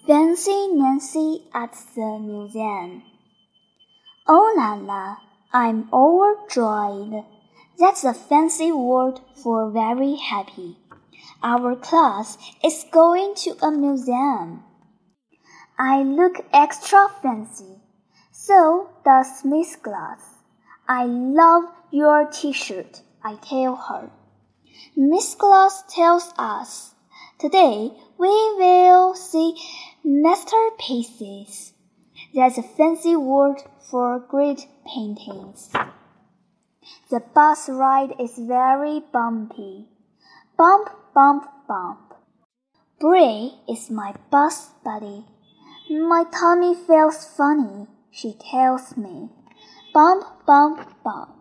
Fancy Nancy at the museum. Oh la la, I'm overjoyed. That's a fancy word for very happy. Our class is going to a museum. I look extra fancy. So does Miss Glass. I love your t-shirt, I tell her. Miss Glass tells us, today we will see masterpieces. That's a fancy word for great paintings. The bus ride is very bumpy. Bump, bump, bump. Bray is my bus buddy. My tummy feels funny, she tells me. Bump, bump, bump.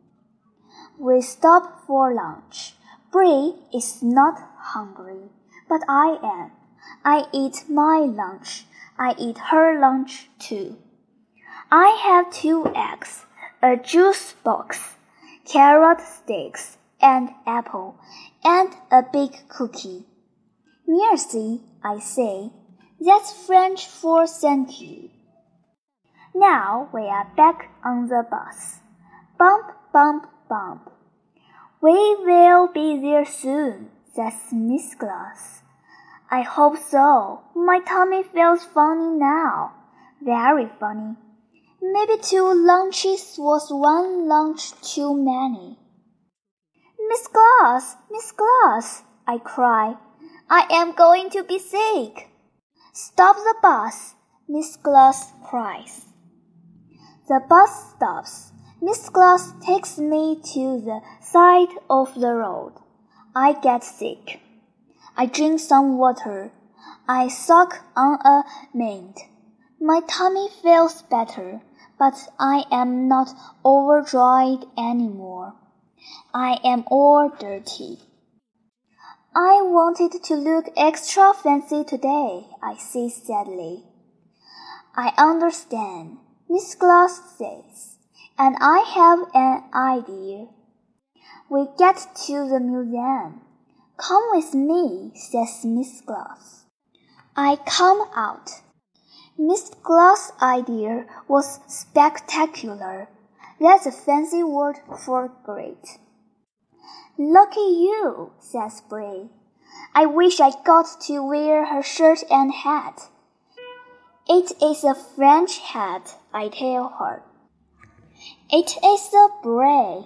We stop for lunch. Bray is not hungry, but I am. I eat my lunch. I eat her lunch too. I have 2 eggs, a juice box, carrot sticks, and apple, and a big cookie. Merci, I say. That's French for thank you. Now we are back on the bus. Bump, bump, bump. We will be there soon, says Miss Glass. I hope so. My tummy feels funny now. Very funny. Maybe 2 lunches was 1 lunch too many. Miss Glass, I cry. I am going to be sick. Stop the bus, Miss Glass cries. The bus stops. Miss Glass takes me to the side of the road. I get sick. I drink some water. I suck on a mint. My tummy feels better, but I am not overjoyed anymore. I am all dirty. I wanted to look extra fancy today, I say sadly. I understand, Miss Glass says, and I have an idea. We get to the museum. Come with me, says Miss Glass. I come out. Miss Glass' idea was spectacular. That's a fancy word for great. Lucky you, says Bray. I wish I got to wear her shirt and hat. It is a French hat, I tell her. It is a Bray.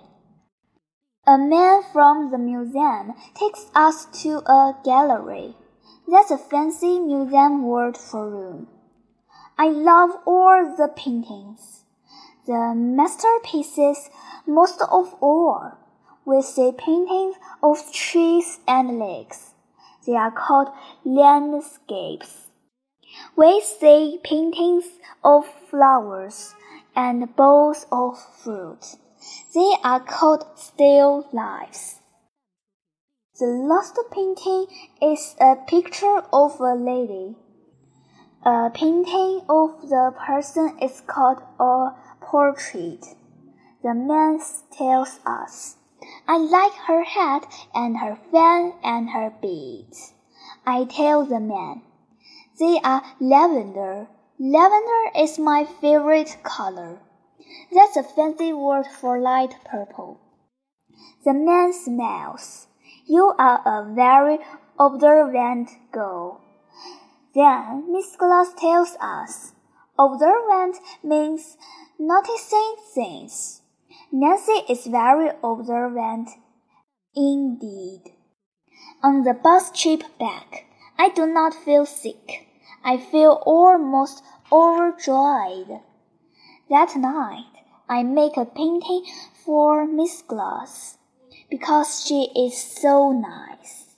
A man from the museum takes us to a gallery. That's a fancy museum word for room. I love all the paintings. The masterpieces most of all. We see paintings of trees and lakes. They are called landscapes. We see paintings of flowers and bowls of fruit. They are called still lifes. The last painting is a picture of a lady. A painting of the person is called a portrait. The man tells us, I like her hat and her fan and her beads. I tell the man, they are lavender. Lavender is my favorite color. That's a fancy word for light purple. The man smiles. You are a very observant girl. Then Miss Glass tells us, observant means noticing things. Nancy is very observant indeed. On the bus trip back, I do not feel sick. I feel almost overjoyed. That night, I make a painting for Miss Glass because she is so nice.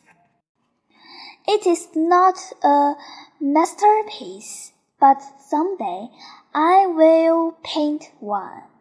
It is not a masterpiece, but someday I will paint one.